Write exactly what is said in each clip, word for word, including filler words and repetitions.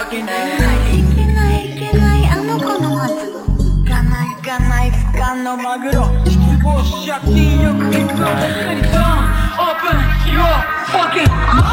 けないいけないいけないあの子の松いかないいかない不可のマグロ失望し借金よく行くのばっかりドン Open your fucking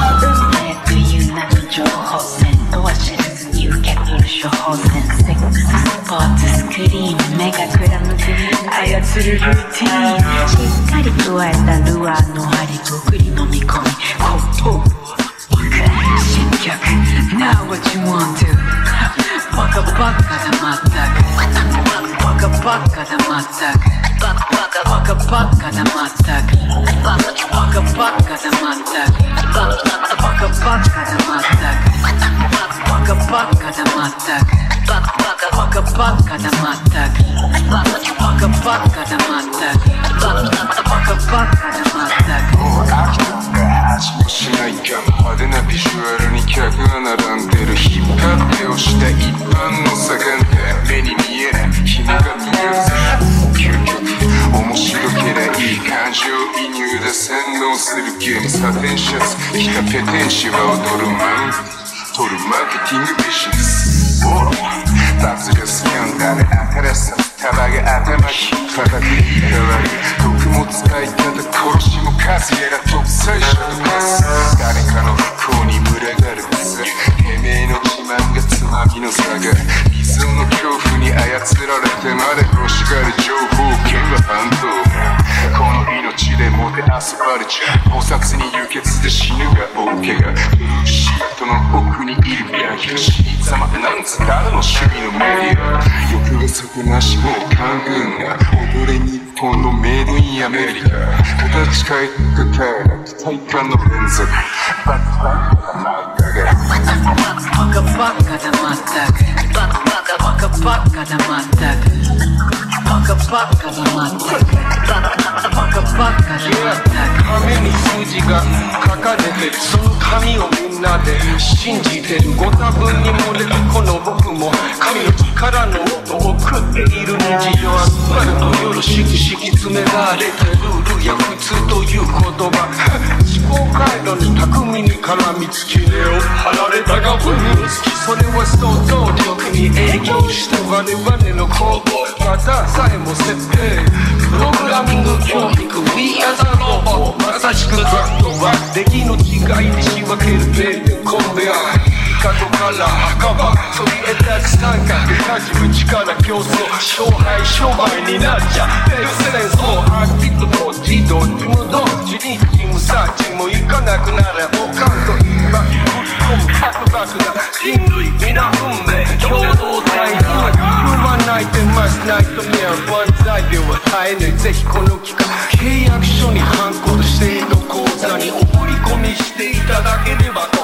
mouth という名の情報戦とは知らずに受け取る処方箋セックススポーツスクリーン目がくらむく操るルーティーンしっかり加えたルアーの針ごくり飲み込み後頭部を新曲 Now what you want to バカバカだまったくバカバカだまったくバカバカバカだまったくバカバカだまったくバカバカだまったくバカバカだまったくバカバカバカだまったくバカバカだまったくバカバカだまったくもう飽きたんだ味もしないかも派手なビジュアルに客が並んでる引っ張って押した一般の盛んで目に見えない紐が見えるぜ究極面白けりゃいい感情移入で洗脳するゲームサテンシャツ着たペテンシは踊るマウント取るマーケティングビジネスバズがスキャンダル新しさ束が頭引っ叩くいたわり毒も使い方殺しも数やら独裁者と化す誰かの不幸に群がるさてめえの自慢がつまみの差が理想の恐怖に操られてまで欲しがる情報権は反動この命でもてあそばれちゃ菩薩に輸血で死ぬが大怪我シートの奥にいる病気死に様なんつ誰の趣味のメディア欲が底なしもう官軍が踊れ日本のメイドインアメリカ形変えたから体感の連続バックバックな漫画がバカバカだまったくバカバカバカバカだまったくバカバカだまったくバカバカバカだまったく紙に数字が書かれてるその紙をみんなで信じてるご多分に漏れるこの僕も神の力の音を食っている日常アスファルトよろしく敷き詰められたルールや普通という言葉思考回路に巧みに絡みつき根を張られたが分につきそれは想像力に影響した我々の行動またさえも設定プログラミング教育 We are the robot まさしくザットは出来の違いに仕分けるベールコンベア角から墓場そびえ立つ三角多重力競争勝敗商売になっちゃうエクセレンスをアーティストと自動自無同時にチームサーチも行かなくなれオカント今ぶっ込む核爆弾人類皆運命共同体には踏まないでますナイトメア万歳では耐えぬぜひこの期間契約書にハンコと指定の口座にお振り込みしていただければ